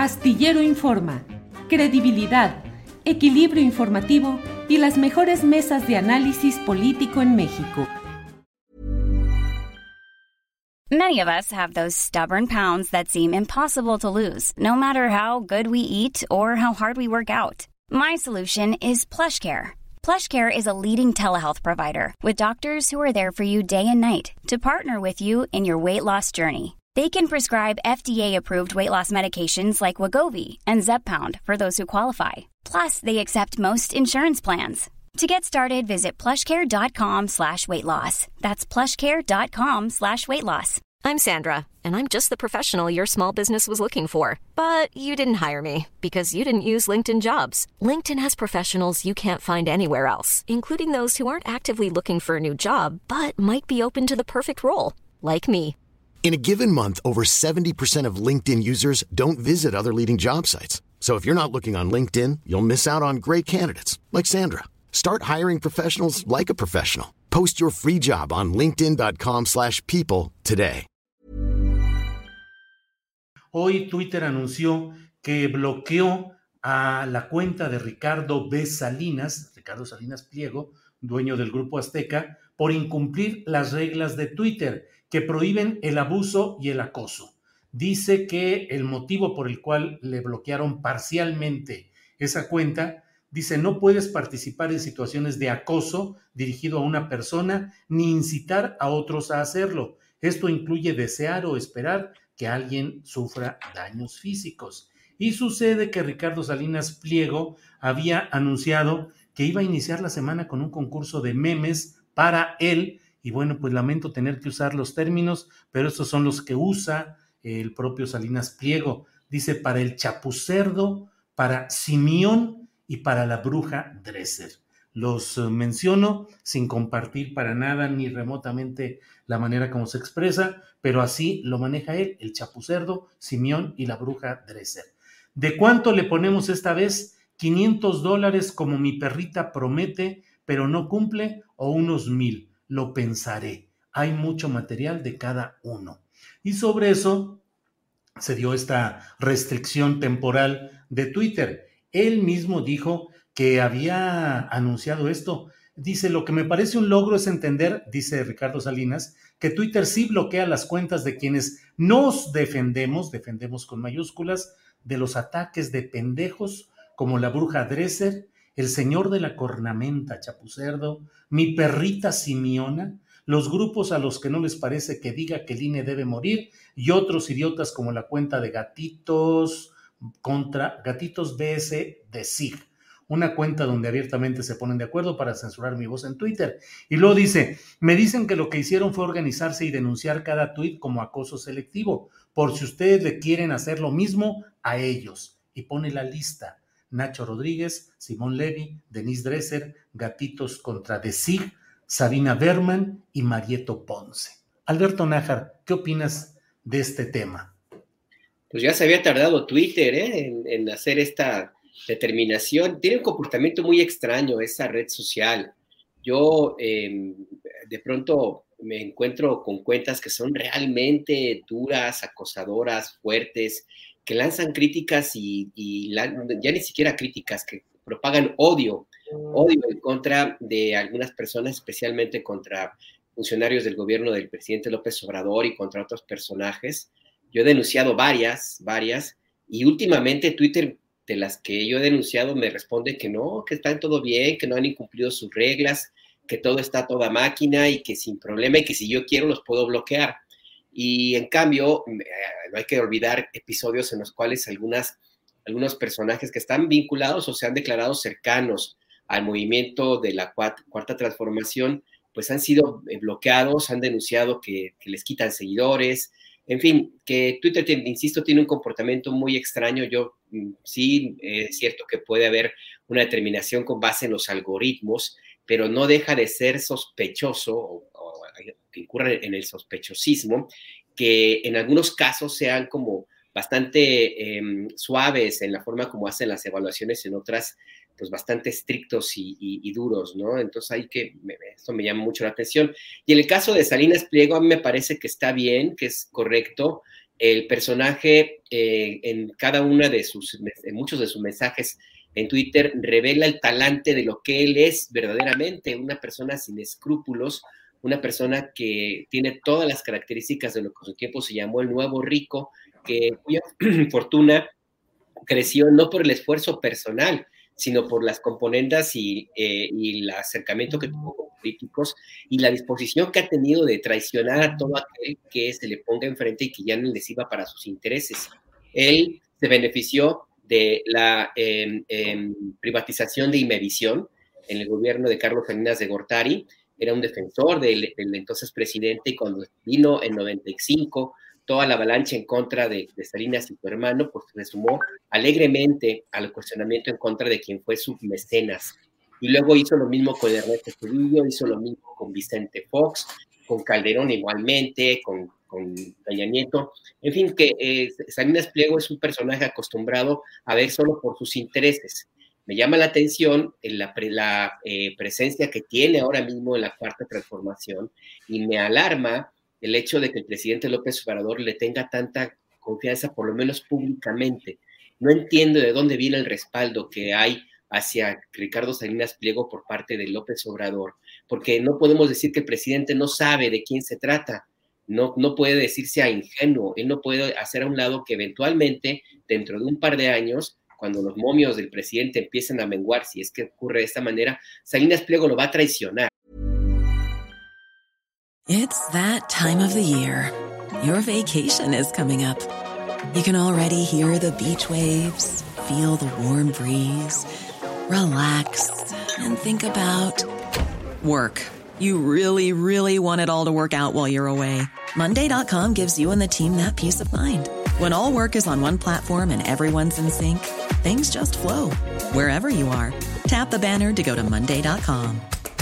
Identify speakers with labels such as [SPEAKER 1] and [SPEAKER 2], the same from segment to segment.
[SPEAKER 1] Astillero Informa, credibilidad, equilibrio informativo y las mejores mesas de análisis político en México.
[SPEAKER 2] Many of us have those stubborn pounds that seem impossible to lose, no matter how good we eat or how hard we work out. My solution is PlushCare. PlushCare is a leading telehealth provider with doctors who are there for you day and night to partner with you in your weight loss journey. They can prescribe FDA-approved weight loss medications like Wegovy and Zepbound for those who qualify. Plus, they accept most insurance plans. To get started, visit plushcare.com/weightloss. That's plushcare.com/weightloss.
[SPEAKER 3] I'm Sandra, and I'm just the professional your small business was looking for. But you didn't hire me because you didn't use LinkedIn Jobs. LinkedIn has professionals you can't find anywhere else, including those who aren't actively looking for a new job, but might be open to the perfect role, like me.
[SPEAKER 4] In a given month, over 70% of LinkedIn users don't visit other leading job sites. So if you're not looking on LinkedIn, you'll miss out on great candidates like Sandra. Start hiring professionals like a professional. Post your free job on linkedin.com/people today.
[SPEAKER 5] Hoy Twitter anunció que bloqueó a la cuenta de Ricardo Salinas Pliego, dueño del Grupo Azteca, por incumplir las reglas de Twitter que prohíben el abuso y el acoso. Dice que el motivo por el cual le bloquearon parcialmente esa cuenta, dice, no puedes participar en situaciones de acoso dirigido a una persona ni incitar a otros a hacerlo. Esto incluye desear o esperar que alguien sufra daños físicos. Y sucede que Ricardo Salinas Pliego había anunciado que iba a iniciar la semana con un concurso de memes para él. Y bueno, pues lamento tener que usar los términos, pero estos son los que usa el propio Salinas Pliego. Dice, para el Chapucerdo, para Simeón y para la bruja Dresser. Los menciono sin compartir para nada ni remotamente la manera como se expresa, pero así lo maneja él, el Chapucerdo, Simeón y la bruja Dresser. ¿De cuánto le ponemos esta vez? $500 como mi perrita promete, pero no cumple, o unos 1,000. Lo pensaré. Hay mucho material de cada uno. Y sobre eso se dio esta restricción temporal de Twitter. Él mismo dijo que había anunciado esto. Dice, lo que me parece un logro es entender, dice Ricardo Salinas, que Twitter sí bloquea las cuentas de quienes nos defendemos con mayúsculas, de los ataques de pendejos como la bruja Dresser, el señor de la cornamenta Chapucerdo, mi perrita Simiona, los grupos a los que no les parece que diga que el INE debe morir y otros idiotas como la cuenta de Gatitos BS de SIG, una cuenta donde abiertamente se ponen de acuerdo para censurar mi voz en Twitter. Y luego dice, me dicen que lo que hicieron fue organizarse y denunciar cada tuit como acoso selectivo, por si ustedes le quieren hacer lo mismo a ellos. Y pone la lista. Nacho Rodríguez, Simón Levy, Denise Dresser, Gatitos contra The SIG, Sabina Berman y Marieto Ponce. Alberto Nájar, ¿qué opinas de este tema?
[SPEAKER 6] Pues ya se había tardado Twitter en hacer esta determinación. Tiene un comportamiento muy extraño esa red social. Yo de pronto me encuentro con cuentas que son realmente duras, acosadoras, fuertes, que lanzan críticas ya ni siquiera críticas, que propagan odio en contra de algunas personas, especialmente contra funcionarios del gobierno del presidente López Obrador y contra otros personajes. Yo he denunciado varias, y últimamente Twitter, de las que yo he denunciado, me responde que no, que está todo bien, que no han incumplido sus reglas, que todo está a toda máquina y que sin problema y que si yo quiero los puedo bloquear. Y en cambio, no hay que olvidar episodios en los cuales algunos personajes que están vinculados o se han declarado cercanos al movimiento de la Cuarta Transformación, pues han sido bloqueados, han denunciado que les quitan seguidores. En fin, que Twitter, insisto, tiene un comportamiento muy extraño. Yo sí, es cierto que puede haber una determinación con base en los algoritmos, pero no deja de ser sospechoso o que incurra en el sospechosismo, que en algunos casos sean como bastante suaves en la forma como hacen las evaluaciones, en otras pues bastante estrictos y duros, ¿no? Entonces esto me llama mucho la atención. Y en el caso de Salinas Pliego, a mí me parece que está bien, que es correcto. el personaje en cada una de en muchos de sus mensajes en Twitter revela el talante de lo que él es verdaderamente, una persona sin escrúpulos, una persona que tiene todas las características de lo que en su tiempo se llamó el nuevo rico, cuya fortuna creció no por el esfuerzo personal, sino por las componendas y el acercamiento que tuvo con políticos y la disposición que ha tenido de traicionar a todo aquel que se le ponga enfrente y que ya no les iba para sus intereses. Él se benefició de la privatización de Imevisión en el gobierno de Carlos Salinas de Gortari. Era un defensor del entonces presidente, y cuando vino en 95 toda la avalancha en contra de Salinas y su hermano, pues se sumó alegremente al cuestionamiento en contra de quien fue su mecenas. Y luego hizo lo mismo con Ernesto Zedillo, hizo lo mismo con Vicente Fox, con Calderón igualmente, con Peña Nieto. En fin, que Salinas Pliego es un personaje acostumbrado a ver solo por sus intereses. Me llama la atención la presencia que tiene ahora mismo en la Cuarta Transformación, y me alarma el hecho de que el presidente López Obrador le tenga tanta confianza, por lo menos públicamente. No entiendo de dónde viene el respaldo que hay hacia Ricardo Salinas Pliego por parte de López Obrador, porque no podemos decir que el presidente no sabe de quién se trata. No puede decirse a ingenuo. Él no puede hacer a un lado que eventualmente, dentro de un par de años, cuando los momios del presidente empiecen a menguar, si es que ocurre de esta manera, Salinas Pliego lo va a traicionar.
[SPEAKER 7] It's that time of the year. Your vacation is coming up. You can already hear the beach waves, feel the warm breeze, relax, and think about work. You really, really want it all to work out while you're away. Monday.com gives you and the team that peace of mind. When all work is on one platform and everyone's in sync, things just flow. Wherever you are, tap the banner to go to Monday.com.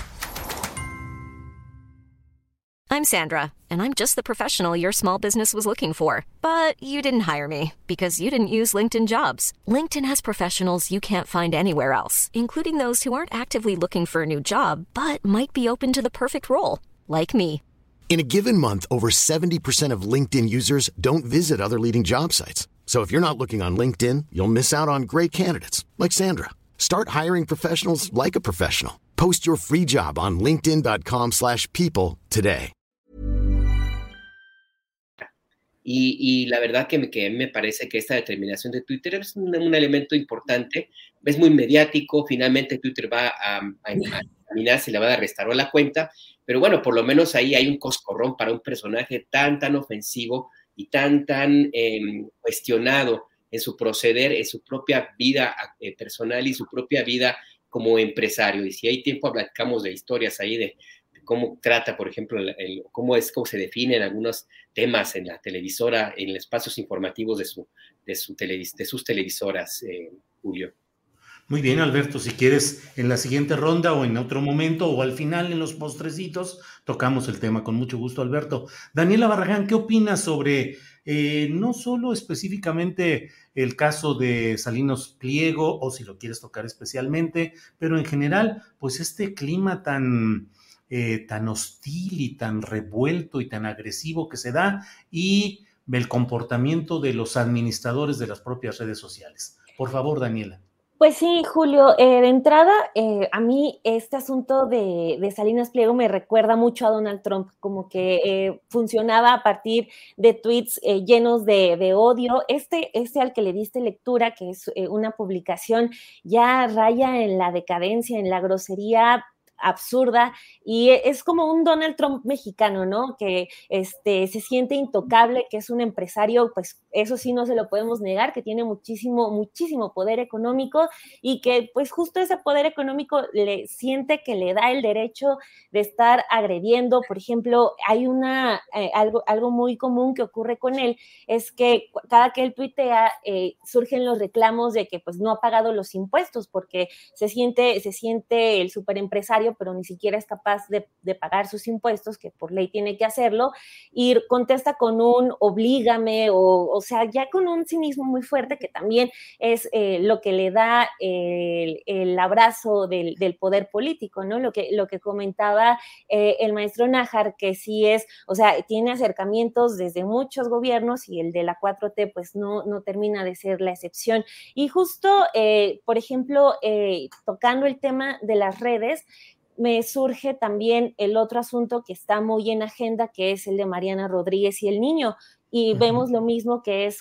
[SPEAKER 3] I'm Sandra, and I'm just the professional your small business was looking for. But you didn't hire me because you didn't use LinkedIn Jobs. LinkedIn has professionals you can't find anywhere else, including those who aren't actively looking for a new job, but might be open to the perfect role, like me.
[SPEAKER 4] In a given month, over 70% of LinkedIn users don't visit other leading job sites. So if you're not looking on LinkedIn, you'll miss out on great candidates like Sandra. Start hiring professionals like a professional. Post your free job on linkedin.com/people today.
[SPEAKER 6] Y la verdad que me parece que esta determinación de Twitter es un elemento importante, es muy mediático. Finalmente Twitter va a examinar si le va a restar la cuenta, pero bueno, por lo menos ahí hay un coscorrón para un personaje tan ofensivo y tan cuestionado en su proceder, en su propia vida personal y su propia vida como empresario. Y si hay tiempo, platicamos de historias ahí de cómo trata, por ejemplo, cómo se definen algunos temas en la televisora, en los espacios informativos de sus televisoras, Julio.
[SPEAKER 5] Muy bien, Alberto, si quieres en la siguiente ronda o en otro momento o al final en los postrecitos, tocamos el tema con mucho gusto, Alberto. Daniela Barragán, ¿qué opinas sobre no solo específicamente el caso de Salinas Pliego, o si lo quieres tocar especialmente, pero en general, pues este clima tan hostil y tan revuelto y tan agresivo que se da, y el comportamiento de los administradores de las propias redes sociales? Por favor, Daniela.
[SPEAKER 8] Pues sí, Julio, de entrada, a mí este asunto de Salinas Pliego me recuerda mucho a Donald Trump, como que funcionaba a partir de tweets llenos de odio. Este al que le diste lectura, que es una publicación ya raya en la decadencia, en la grosería absurda, y es como un Donald Trump mexicano, ¿no? Que se siente intocable, que es un empresario, pues eso sí no se lo podemos negar, que tiene muchísimo poder económico, y que pues justo ese poder económico le siente que le da el derecho de estar agrediendo. Por ejemplo, hay algo muy común que ocurre con él, es que cada que él tuitea surgen los reclamos de que pues no ha pagado los impuestos, porque se siente el superempresario empresario, pero ni siquiera es capaz de pagar sus impuestos, que por ley tiene que hacerlo, y contesta con un oblígame, o sea, ya con un cinismo muy fuerte, que también es lo que le da el abrazo del poder político, ¿no? Lo que comentaba el maestro Nájar, que sí es, o sea, tiene acercamientos desde muchos gobiernos, y el de la 4T pues no termina de ser la excepción. Y justo, por ejemplo, tocando el tema de las redes, me surge también el otro asunto que está muy en agenda, que es el de Mariana Rodríguez y el niño. Y vemos lo mismo que es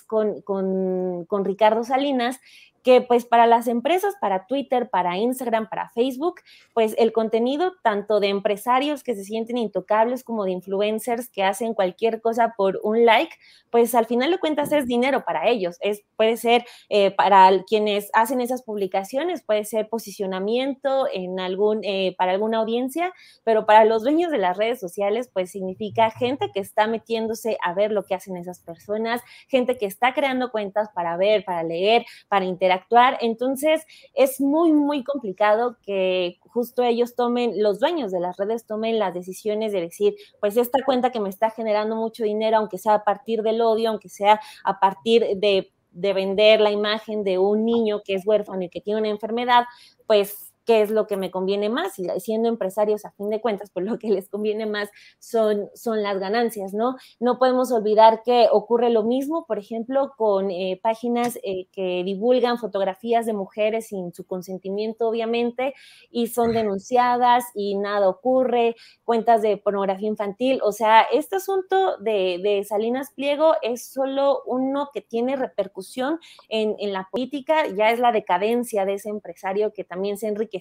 [SPEAKER 8] con Ricardo Salinas, que pues para las empresas, para Twitter, para Instagram, para Facebook, pues el contenido tanto de empresarios que se sienten intocables como de influencers que hacen cualquier cosa por un like, pues al final de cuentas es dinero para ellos. Puede ser para quienes hacen esas publicaciones, puede ser posicionamiento para alguna audiencia, pero para los dueños de las redes sociales pues significa gente que está metiéndose a ver lo que hacen esas personas, gente que está creando cuentas para ver, para leer, para interactuar. Entonces es muy, muy complicado que justo los dueños de las redes tomen las decisiones de decir, pues esta cuenta que me está generando mucho dinero, aunque sea a partir del odio, aunque sea a partir de vender la imagen de un niño que es huérfano y que tiene una enfermedad, pues qué es lo que me conviene más, y siendo empresarios a fin de cuentas, pues lo que les conviene más son las ganancias, ¿no? No podemos olvidar que ocurre lo mismo, por ejemplo, con páginas que divulgan fotografías de mujeres sin su consentimiento, obviamente, y son denunciadas y nada ocurre, cuentas de pornografía infantil. O sea, este asunto de Salinas Pliego es solo uno que tiene repercusión en la política, ya es la decadencia de ese empresario que también se enriquece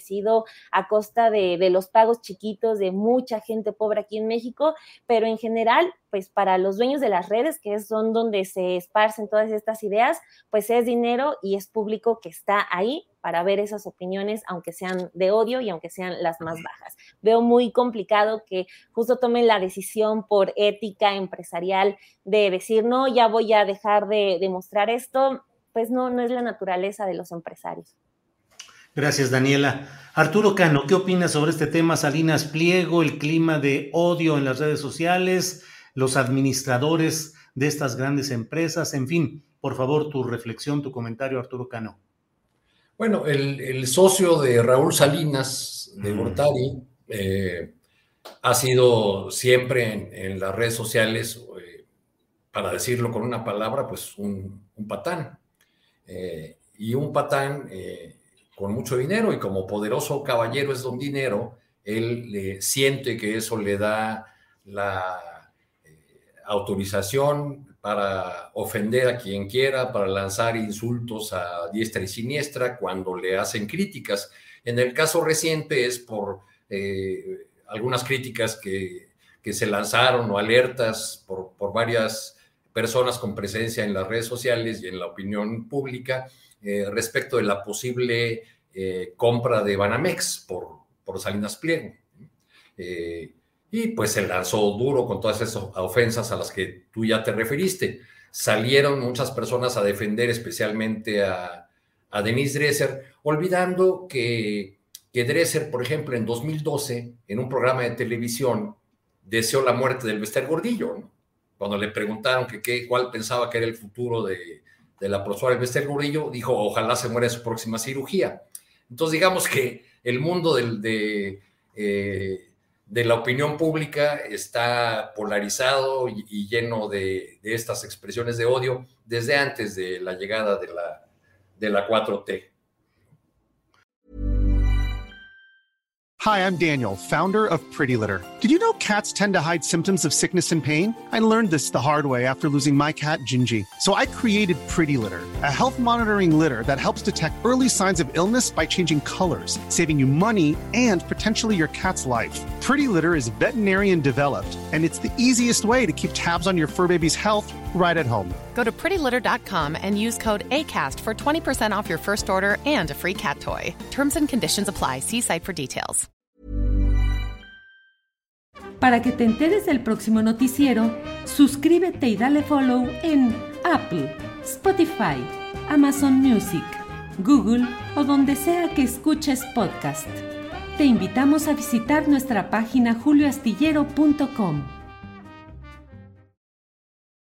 [SPEAKER 8] a costa de los pagos chiquitos de mucha gente pobre aquí en México, pero en general, pues para los dueños de las redes, que son donde se esparcen todas estas ideas, pues es dinero y es público que está ahí para ver esas opiniones, aunque sean de odio y aunque sean las más bajas. Veo muy complicado que justo tomen la decisión por ética empresarial de decir, no, ya voy a dejar de mostrar esto, pues no es la naturaleza de los empresarios.
[SPEAKER 5] Gracias, Daniela. Arturo Cano, ¿qué opinas sobre este tema? Salinas Pliego, el clima de odio en las redes sociales, los administradores de estas grandes empresas, en fin, por favor, tu reflexión, tu comentario, Arturo Cano.
[SPEAKER 9] Bueno, el socio de Raúl Salinas, de Gortari, ha sido siempre en las redes sociales, para decirlo con una palabra, pues un patán. Y un patán con mucho dinero, y como poderoso caballero es don dinero, él siente que eso le da la autorización para ofender a quien quiera, para lanzar insultos a diestra y siniestra cuando le hacen críticas. En el caso reciente es por algunas críticas que se lanzaron, o alertas por varias personas con presencia en las redes sociales y en la opinión pública, respecto de la posible compra de Banamex por Salinas Pliego. Y pues se lanzó duro con todas esas ofensas a las que tú ya te referiste. Salieron muchas personas a defender especialmente a Denise Dresser, olvidando que Dresser, por ejemplo, en 2012, en un programa de televisión, deseó la muerte del Bester Gordillo, ¿no? Cuando le preguntaron cuál pensaba que era el futuro de la profesora Bester Gordillo, dijo, ojalá se muera en su próxima cirugía. Entonces, digamos que el mundo de la opinión pública está polarizado y lleno de estas expresiones de odio desde antes de la llegada de la 4T.
[SPEAKER 10] Hi, I'm Daniel, founder of Pretty Litter. Did you know cats tend to hide symptoms of sickness and pain? I learned this the hard way after losing my cat, Gingy. So I created Pretty Litter, a health monitoring litter that helps detect early signs of illness by changing colors, saving you money and potentially your cat's life. Pretty Litter is veterinarian developed, and it's the easiest way to keep tabs on your fur baby's health right at home.
[SPEAKER 11] Go to prettylitter.com and use code ACAST for 20% off your first order and a free cat toy. Terms and conditions apply. See site for details.
[SPEAKER 1] Para que te enteres del próximo noticiero, suscríbete y dale follow en Apple, Spotify, Amazon Music, Google o donde sea que escuches podcast. te invitamos a visitar nuestra página julioastillero.com.